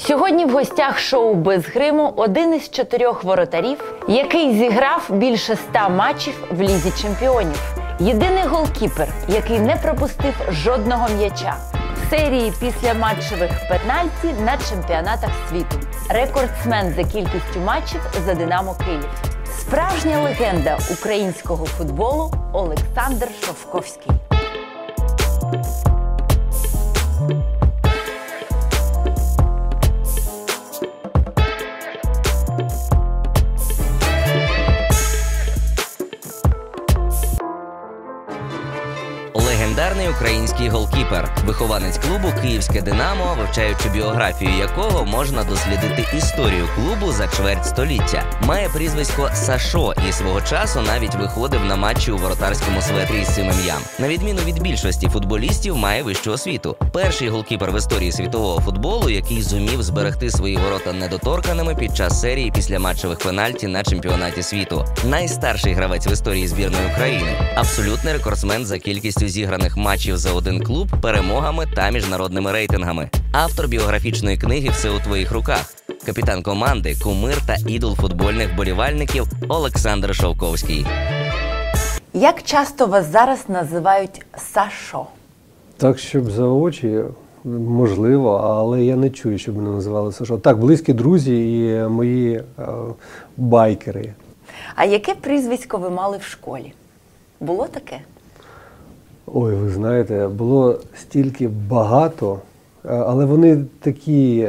Сьогодні в гостях шоу «Без гриму» один із 4 воротарів, який зіграв більше 100 матчів в Лізі чемпіонів. Єдиний голкіпер, який не пропустив жодного м'яча. В серії післяматчевих пенальті на чемпіонатах світу. Рекордсмен за кількістю матчів за «Динамо Київ». Справжня легенда українського футболу Олександр Шовковський. Легендарний український голкіпер, вихованець клубу «Київське Динамо», вивчаючи біографію якого можна дослідити історію клубу за чверть століття. Має прізвисько Сашо і свого часу навіть виходив на матчі у воротарському светрі із цим ім'ям. На відміну від більшості футболістів, має вищу освіту. Перший голкіпер в історії світового футболу, який зумів зберегти свої ворота недоторканими під час серії післяматчевих пенальті на чемпіонаті світу. Найстарший гравець в історії збірної України. Абсолютний рекордсмен за кількістю зіграних матчів за один клуб, перемогами та міжнародними рейтингами. Автор біографічної книги «Все у твоїх руках». Капітан команди, кумир та ідол футбольних вболівальників Олександр Шовковський. Як часто вас зараз називають Сашо? Так, щоб за очі, можливо, але я не чую, щоб мене називали Сашо. Так, близькі друзі і мої байкери. А яке прізвисько ви мали в школі? Було таке? Ой, ви знаєте, було стільки багато, але вони такі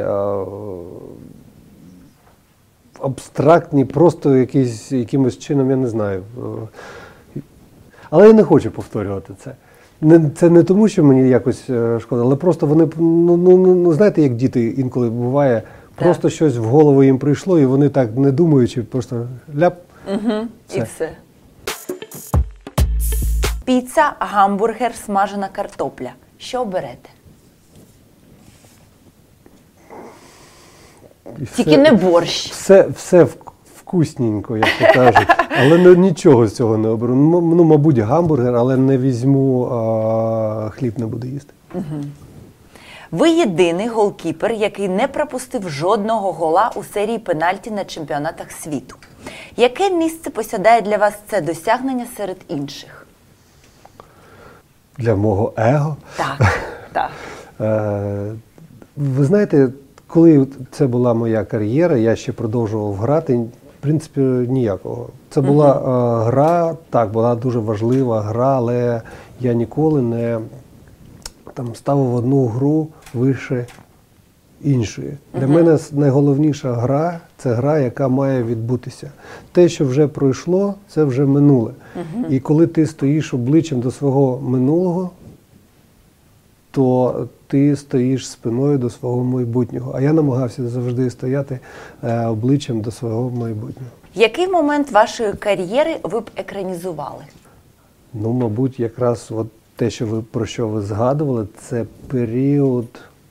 абстрактні, просто якимось чином, я не знаю. Але я не хочу повторювати це. Це не тому, що мені якось шкода, але просто вони, знаєте, як діти інколи буває, просто щось в голову їм прийшло, і вони так не думаючи, просто ляп. І все. Піца, гамбургер, смажена картопля. Що оберете? Тільки не борщ. Все вкусненько, як то кажуть. Але нічого з цього не оберу. Мабуть, гамбургер, але не візьму, хліб не буду їсти. Ви єдиний голкіпер, який не пропустив жодного гола у серії пенальті на чемпіонатах світу. Яке місце посідає для вас це досягнення серед інших? Для мого его? Так. Ви знаєте, коли це була моя кар'єра, я ще продовжував грати, в принципі, ніякого. Це була гра, так, була дуже важлива гра, але я ніколи не ставив одну гру вище іншої. Для мене найголовніша гра – це гра, яка має відбутися. Те, що вже пройшло, це вже минуле. І коли ти стоїш обличчям до свого минулого, то ти стоїш спиною до свого майбутнього. А я намагався завжди стояти обличчям до свого майбутнього. Який момент вашої кар'єри ви б екранізували? Мабуть, якраз те, про що ви згадували, це період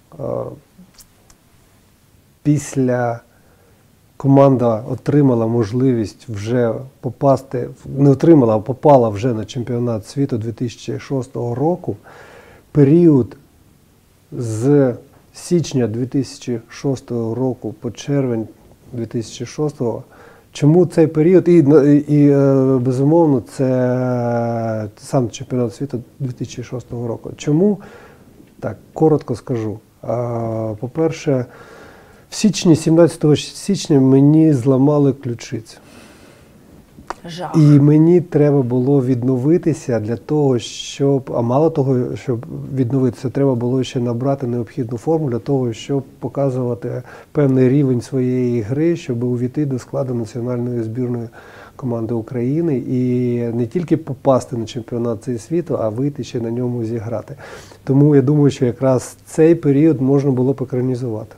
після команда отримала можливість вже попасти, не отримала, а попала вже на чемпіонат світу 2006 року. Період з січня 2006 року по червень 2006. Чому цей період? І безумовно, це сам чемпіонат світу 2006 року. Чому? Так, коротко скажу. По-перше, в січні, 17 січня мені зламали ключицю. Жах. І мені треба було відновитися для того, а мало того, щоб відновитися, треба було ще набрати необхідну форму для того, щоб показувати певний рівень своєї гри, щоб увійти до складу національної збірної команди України і не тільки попасти на чемпіонат цей світу, а вийти ще на ньому зіграти. Тому я думаю, що якраз цей період можна було б екранізувати.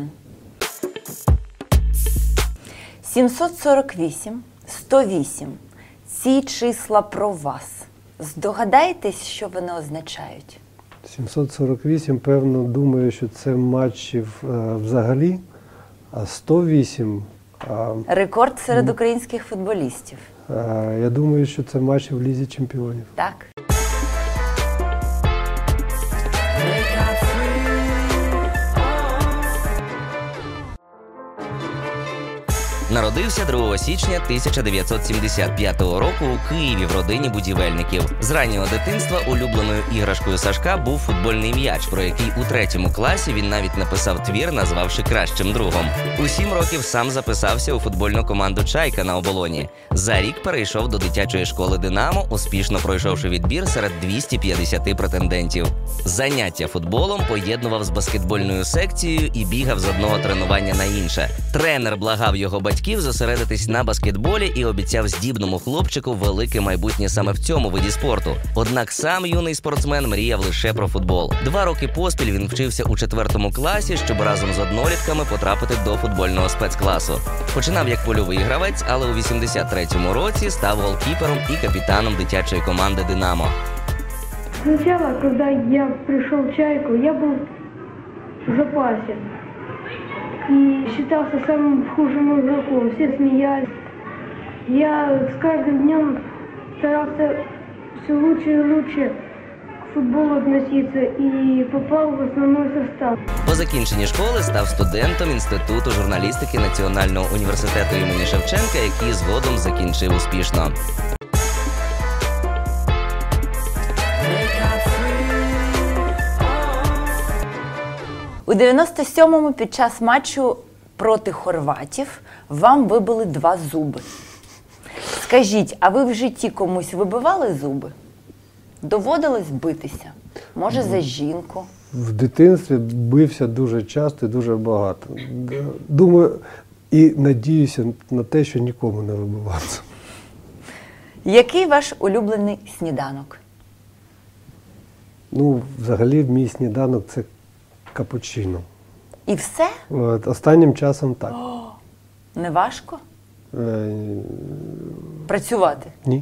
748, 108. Ці числа про вас. Здогадаєтесь, що вони означають? 748, певно, думаю, що це матчів взагалі, а 108... Рекорд серед українських футболістів. Я думаю, що це матчі в Лізі чемпіонів. Так. Народився 2 січня 1975 року у Києві в родині будівельників. З раннього дитинства улюбленою іграшкою Сашка був футбольний м'яч, про який у 3 класі він навіть написав твір, назвавши кращим другом. У 7 років сам записався у футбольну команду «Чайка» на Оболоні. За рік перейшов до дитячої школи «Динамо», успішно пройшовши відбір серед 250 претендентів. Заняття футболом поєднував з баскетбольною секцією і бігав з одного тренування на інше. Тренер благав його батьків зосередитись на баскетболі і обіцяв здібному хлопчику велике майбутнє саме в цьому виді спорту. Однак сам юний спортсмен мріяв лише про футбол. 2 роки поспіль він вчився у 4 класі, щоб разом з однолітками потрапити до футбольного спецкласу. Починав як польовий гравець, але у 83-му році став голкіпером і капітаном дитячої команди «Динамо». Сначала, когда я пришел в «Чайку», я был в запасе и считался самым худшим игроком. Все смеялись. Я с каждым днем старался все лучше и лучше к футболу относиться и попал в основной состав. По закінченні школи став студентом Інституту журналістики Національного університету імені Шевченка, який згодом закінчив успішно. У 97-му під час матчу проти хорватів вам вибили 2 зуби. Скажіть, а ви в житті комусь вибивали зуби? Доводилось битися? Може, за жінку? В дитинстві бився дуже часто і дуже багато. Думаю і надіюся на те, що нікому не вибивався. Який ваш улюблений сніданок? Ну, взагалі, мій сніданок – це капучино. І все? Останнім часом так. Не важко Е, працювати? Ні.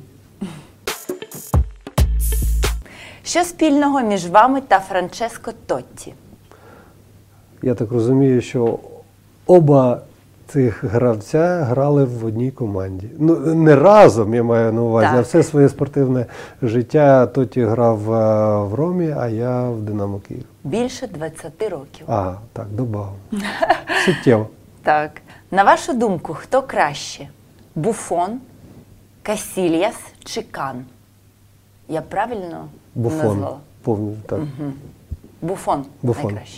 Що спільного між вами та Франческо Тотті? Я так розумію, що оба цих гравця грали в одній команді. Ну, не разом, я маю на увазі, Так. а все своє спортивне життя Тотті грав в Ромі, а я в Динамо Київ. Більше 20 років. Ага, так, добав. Суттєво. Так. На вашу думку, хто краще? Буфон, Касільяс чи Кан? Я правильно Буфон. назвала? Повністю, так. Буфон, Буфон. найкраще.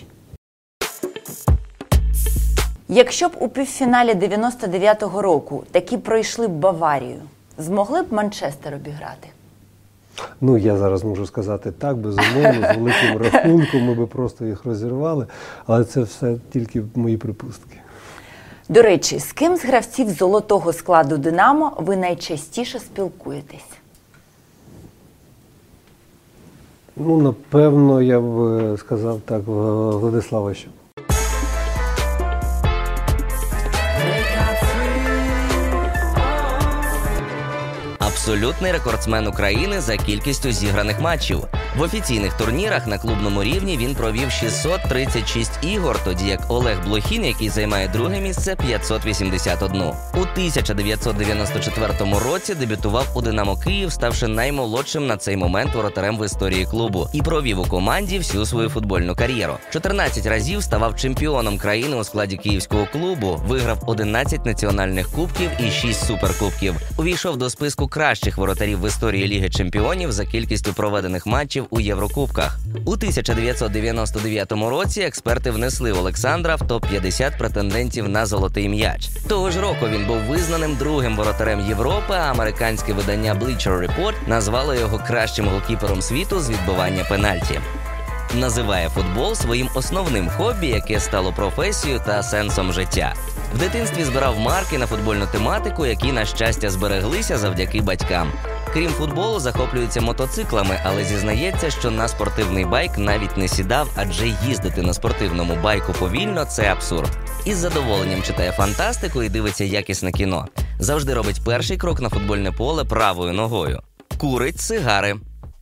Якщо б у півфіналі 99-го року таки пройшли б Баварію, змогли б Манчестер обіграти? Ну, я зараз можу сказати так, безумовно, з великим рахунком ми би просто їх розірвали, але це все тільки мої припустки. До речі, з ким з гравців золотого складу «Динамо» ви найчастіше спілкуєтесь? Ну, напевно, я б сказав так, Владислава Щук. Абсолютний рекордсмен України за кількістю зіграних матчів. В офіційних турнірах на клубному рівні він провів 636 ігор, тоді як Олег Блохін, який займає 2-ге місце, 581. У 1994 році дебютував у «Динамо Київ», ставши наймолодшим на цей момент воротарем в історії клубу і провів у команді всю свою футбольну кар'єру. 14 разів ставав чемпіоном країни у складі київського клубу, виграв 11 національних кубків і 6 суперкубків. Увійшов до списку кращих воротарів в історії Ліги чемпіонів за кількістю проведених матчів у Єврокубках. У 1999 році експерти внесли Олександра в топ-50 претендентів на золотий м'яч. Того ж року він був визнаним 2-м воротарем Європи, а американське видання Bleacher Report назвало його кращим голкіпером світу з відбивання пенальті. Називає футбол своїм основним хобі, яке стало професією та сенсом життя. В дитинстві збирав марки на футбольну тематику, які, на щастя, збереглися завдяки батькам. Крім футболу, захоплюється мотоциклами, але зізнається, що на спортивний байк навіть не сідав, адже їздити на спортивному байку повільно – це абсурд. Із задоволенням читає фантастику і дивиться якісне кіно. Завжди робить перший крок на футбольне поле правою ногою. Курить сигари.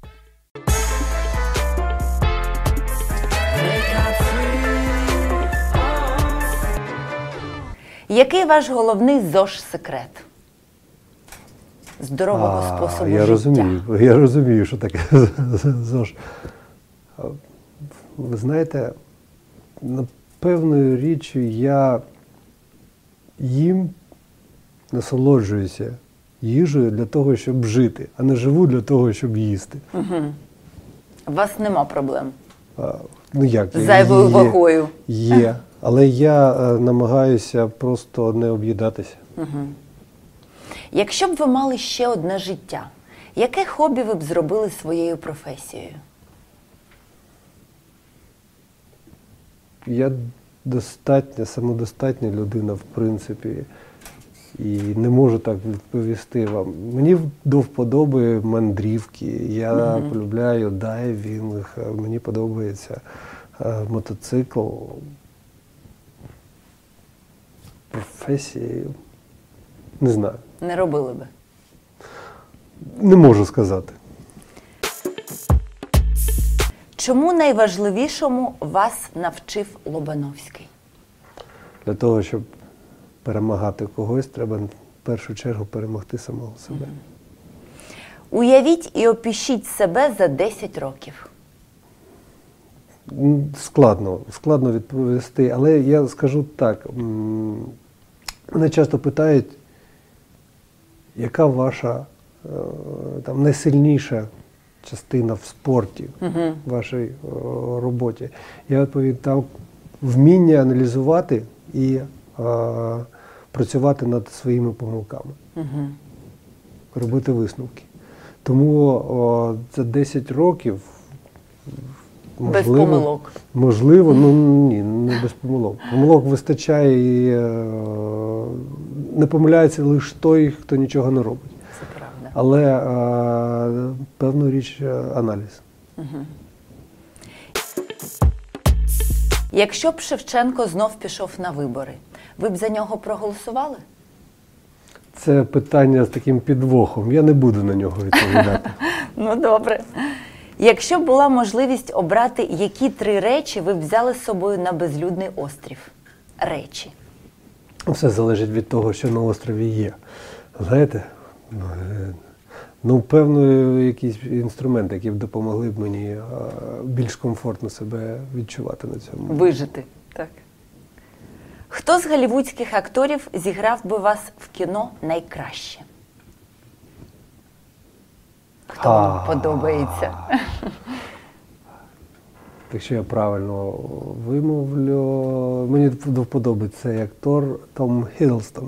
Який ваш головний ЗОЖ-секрет? Здорового способу я життя. Я розумію, що таке ЗОЖ. Ви знаєте, напевною річчю я їм насолоджуюся їжею для того, щоб жити, а не живу для того, щоб їсти. У вас нема проблем Ну як? з зайвою вагою? Є. Але я намагаюся просто не об'їдатися. Якщо б ви мали ще одне життя, яке хобі ви б зробили своєю професією? Я самодостатня людина, в принципі, і не можу так відповісти вам. Мені до вподоби мандрівки, я полюбляю дайвінг, мені подобається мотоцикл. Професії, не знаю. Не робили би? Не можу сказати. Чому найважливішому вас навчив Лобановський? Для того, щоб перемагати когось, треба в першу чергу перемогти самого себе. Уявіть і опишіть себе за 10 років. Складно відповісти, але я скажу так. Мене часто питають, яка ваша найсильніша частина в спорті, в вашій роботі. Я відповім, там вміння аналізувати і працювати над своїми помилками, робити висновки. Тому за 10 років Без помилок. Можливо, ні, не без помилок. Помилок вистачає і не помиляється лише той, хто нічого не робить. Це правда. Але певну річ аналіз. Якщо б Шевченко знов пішов на вибори, ви б за нього проголосували? Це питання з таким підвохом. Я не буду на нього відповідати. Ну, добре. Якщо б була можливість обрати, які 3 речі ви б взяли з собою на безлюдний острів? Речі. Все залежить від того, що на острові є. Знаєте, певно, якісь інструменти, які б допомогли б мені більш комфортно себе відчувати на цьому. Вижити, так. Хто з голлівудських акторів зіграв би вас в кіно найкраще? Хто вам подобається? Якщо я правильно вимовлю, мені до вподоби цей актор Том Хіддлстон.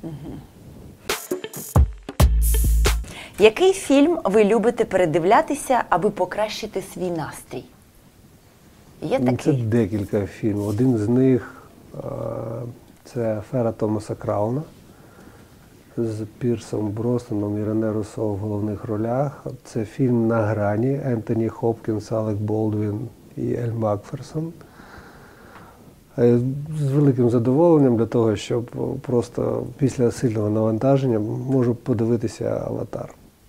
Який фільм ви любите передивлятися, аби покращити свій настрій? Є Це такий? декілька фільмів. Один з них це «Афера Томаса Крауна» з Пірсом Броснаном і Рене Руссо в головних ролях. Це фільм «На грані» Ентоні Хопкінс, Алек Болдвін і Ель Макферсон. З великим задоволенням для того, щоб просто після сильного навантаження можу подивитися «Аватар».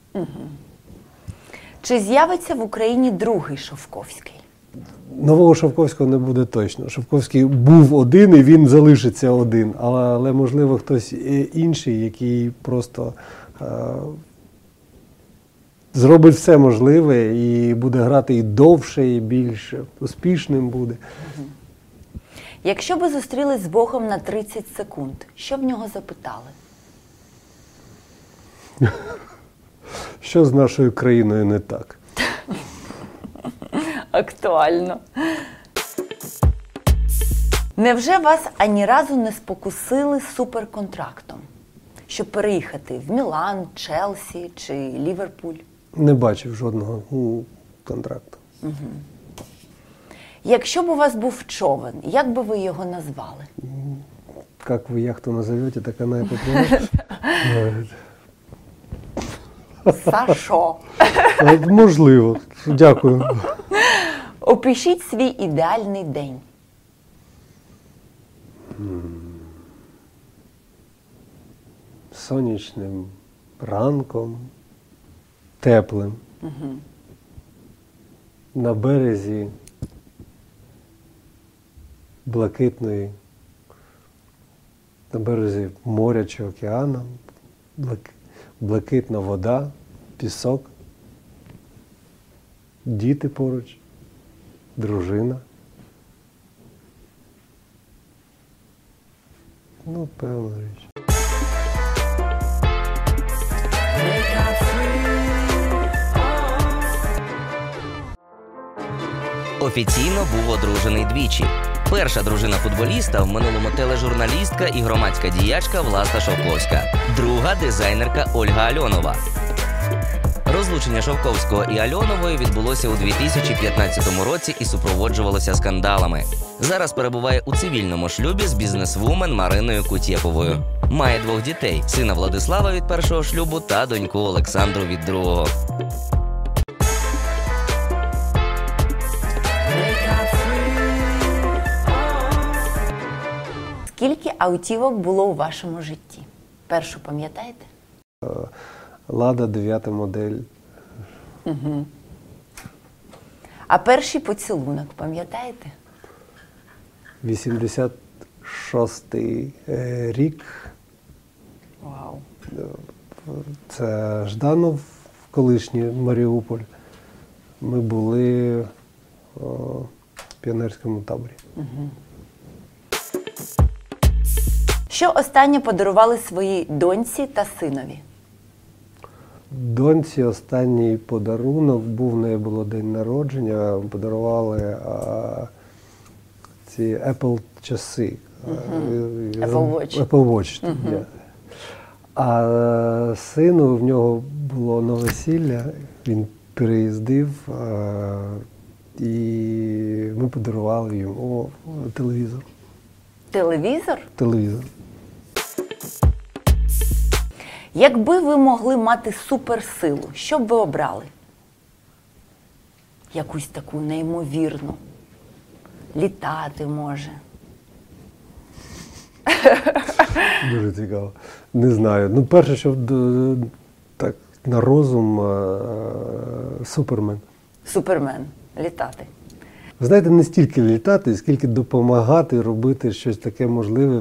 Чи з'явиться в Україні другий Шовковський? Нового Шовковського не буде точно. Шовковський був один і він залишиться один. Але можливо, хтось інший, який просто зробить все можливе і буде грати і довше, і більш успішним буде. Якщо ви зустрілись з Богом на 30 секунд, що в нього запитали? Що з нашою країною не так? Актуально. Невже вас ані разу не спокусили суперконтрактом, щоб переїхати в Мілан, Челсі чи Ліверпуль? Не бачив жодного контракту. Якщо б у вас був човен, як би ви його назвали? Як ви яхту назовете, так вона і попливе. Сашо. Можливо. Дякую. Опишіть свій ідеальний день. Сонячним ранком, теплим. На березі блакитної, на березі моря чи океану, блакитна вода, пісок, діти поруч, дружина. Певна річ. Офіційно був одружений двічі. Перша дружина футболіста в минулому тележурналістка і громадська діячка Власта Шовковська. Друга – дизайнерка Ольга Альонова. Розлучення Шовковського і Альонової відбулося у 2015 році і супроводжувалося скандалами. Зараз перебуває у цивільному шлюбі з бізнесвумен Мариною Кутєповою. Має 2 дітей – сина Владислава від першого шлюбу та доньку Олександру від другого. Скільки автівок було у вашому житті? Першу пам'ятаєте? Лада 9 модель. А перший поцілунок пам'ятаєте? 86-й рік. Вау. Це Жданов, колишній Маріуполь. Ми були в піонерському таборі. Що останнє подарували своїй доньці та синові? Доньці останній подарунок був, в неї було день народження, подарували ці Apple часи. Apple Watch. Apple Watch. Yeah. А сину, в нього було на весілля, він переїздив, і ми подарували йому телевізор. Телевізор? Телевізор. Якби ви могли мати суперсилу, що б ви обрали? Якусь таку неймовірну. Літати може. Дуже цікаво. Не знаю. Ну, перше, що так, на розум Супермен. Супермен. Літати. Ви знаєте, не стільки літати, скільки допомагати робити щось таке можливе,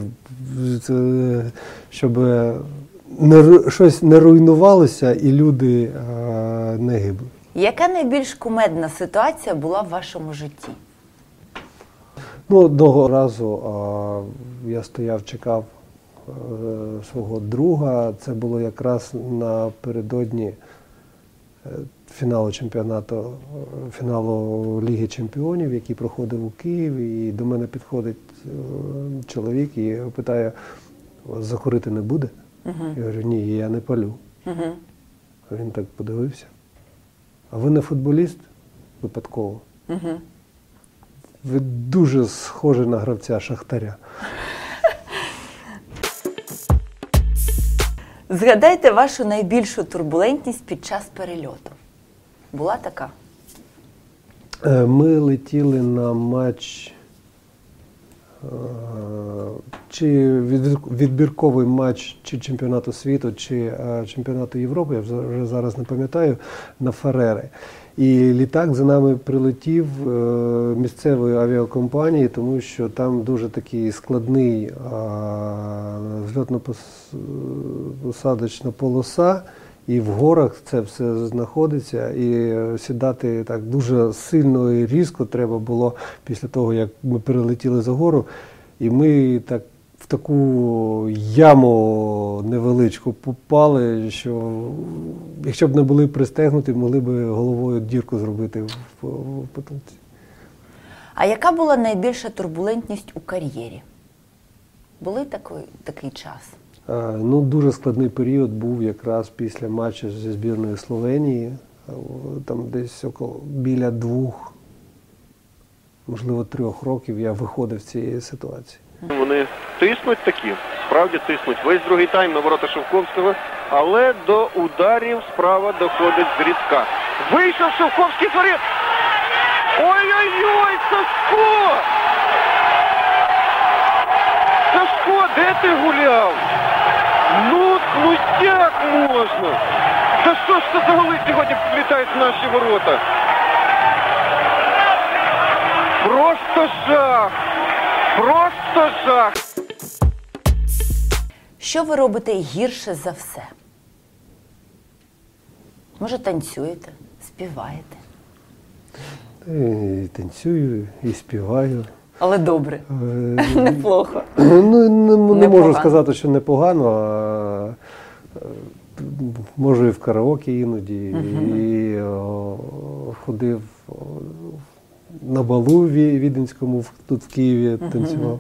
щоб щось не руйнувалося і люди не гибли. Яка найбільш кумедна ситуація була в вашому житті? Ну, одного разу я стояв, чекав свого друга. Це було якраз напередодні фіналу Ліги Чемпіонів, який проходив у Києві. І до мене підходить чоловік і питає: "Вас закурити не буде?" Я говорю: "Ні, я не палю." Він так подивився: "А ви не футболіст?" Випадково. Ви дуже схожі на гравця Шахтаря. Згадайте вашу найбільшу турбулентність під час перельоту. Була така? Ми летіли на матч, чи відбірковий матч чи чемпіонату світу, чи чемпіонату Європи, я вже зараз не пам'ятаю, на Фарери. І літак за нами прилетів місцевої авіакомпанії, тому що там дуже такий складний зльотно-посадочна полоса, і в горах це все знаходиться, і сідати так дуже сильно і різко треба було після того, як ми перелетіли за гору. І ми так в таку яму невеличку попали, що якщо б не були пристегнуті, могли б головою дірку зробити в потолці. А яка була найбільша турбулентність у кар'єрі? Були такий час? Ну, дуже складний період був якраз після матчу зі збірною Словенії. Там десь біля 2, можливо 3 років я виходив з цієї ситуації. Вони тиснуть такі, справді тиснуть. Весь другий тайм на ворота Шовковського, але до ударів справа доходить Зрідка. Вийшов Шовковський з воріт! Ой-ой-ой, Сашко! Сашко, де ти гуляв? Ну як можна? Та що ж це за голи сьогодні влітають в наші ворота? Просто жах! Просто жах! Що ви робите гірше за все? Може, танцюєте, співаєте? І танцюю, і співаю. Але добре, неплохо. Ну, не можу Непогано. сказати, що непогано, а можу і в караоке іноді, і ходив на балу віденському тут в Києві танцював.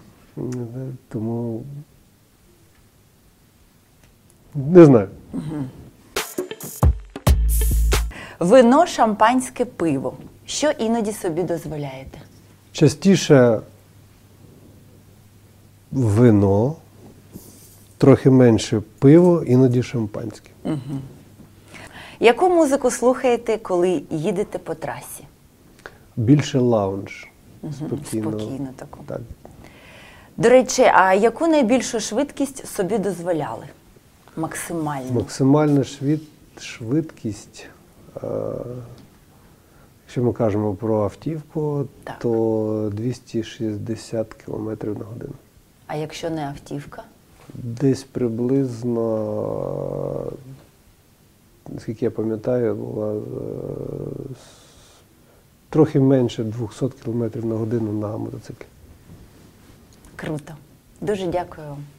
Тому не знаю. Вино, шампанське, пиво. Що іноді собі дозволяєте? Частіше вино, трохи менше пиво, іноді шампанське. Яку музику слухаєте, коли їдете по трасі? Більше лаунж. Спокійно. Спокійно таку. Так. До речі, а яку найбільшу швидкість собі дозволяли? Максимально. Максимальна швидкість, якщо ми кажемо про автівку, Так. то 260 км на годину. А якщо не автівка? Десь приблизно, наскільки я пам'ятаю, була трохи менше 200 км на годину на мотоциклі. Круто. Дуже дякую вам.